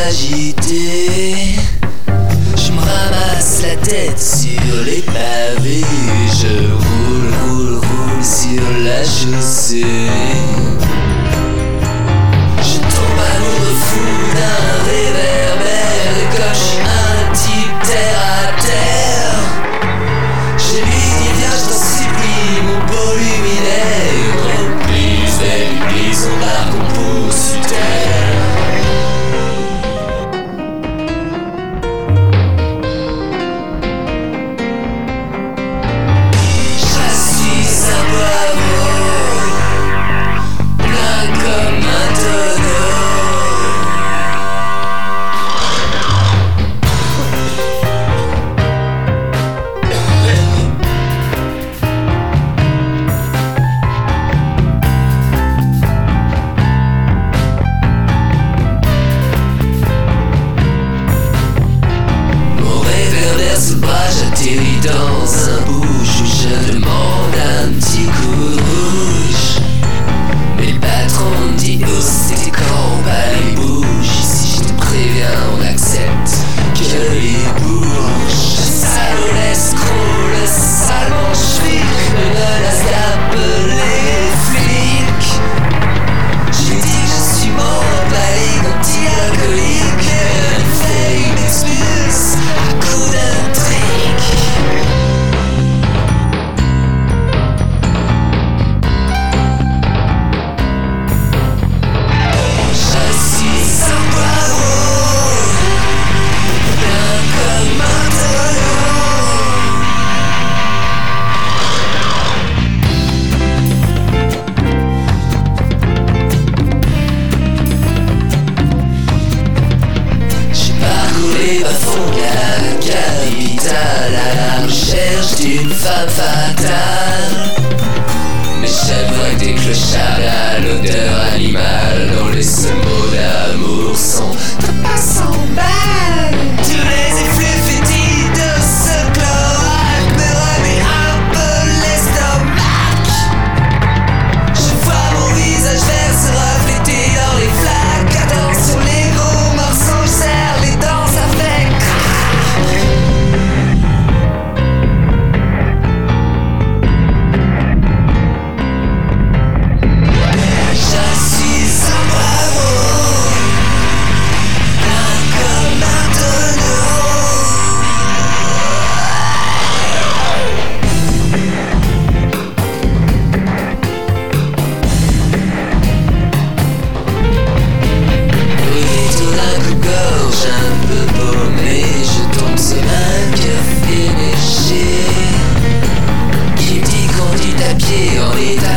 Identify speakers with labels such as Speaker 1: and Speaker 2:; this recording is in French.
Speaker 1: agité. Je me ramasse la tête sur les pavés. Je roule sur la chaussée. Je tombe amoureux fou d'un réverbère. Et quand je suis un type terre à terre, je lui dis viens je t'en supplie mon beau luminaire. Oublie son bar qu'on pousse sur terre. J'atterris dans un bouge où je demande un petit coup rouge. Mais le patron me dit oh c'était quand pas les bouges. Ici je te préviens on accepte que les bouges. Le salaud l'escroc, le sale manche-flic me menace d'appeler les flics. Je lui dis que je suis mort de la ligue anti-alcoolique. Elle fait une expulse à coup d'un trick. D'une femme fatale. Mais chaque fois que des clochards à l'odeur animale dont les seuls mots d'amour sont pas 100 balles. Tous les effluves fétides de ce cloaque me remet un peu l'estomac. Je vois mon visage vert se refléter dans les flaques. Attention les gros morceaux, je serre les dents, ça fait crack. On est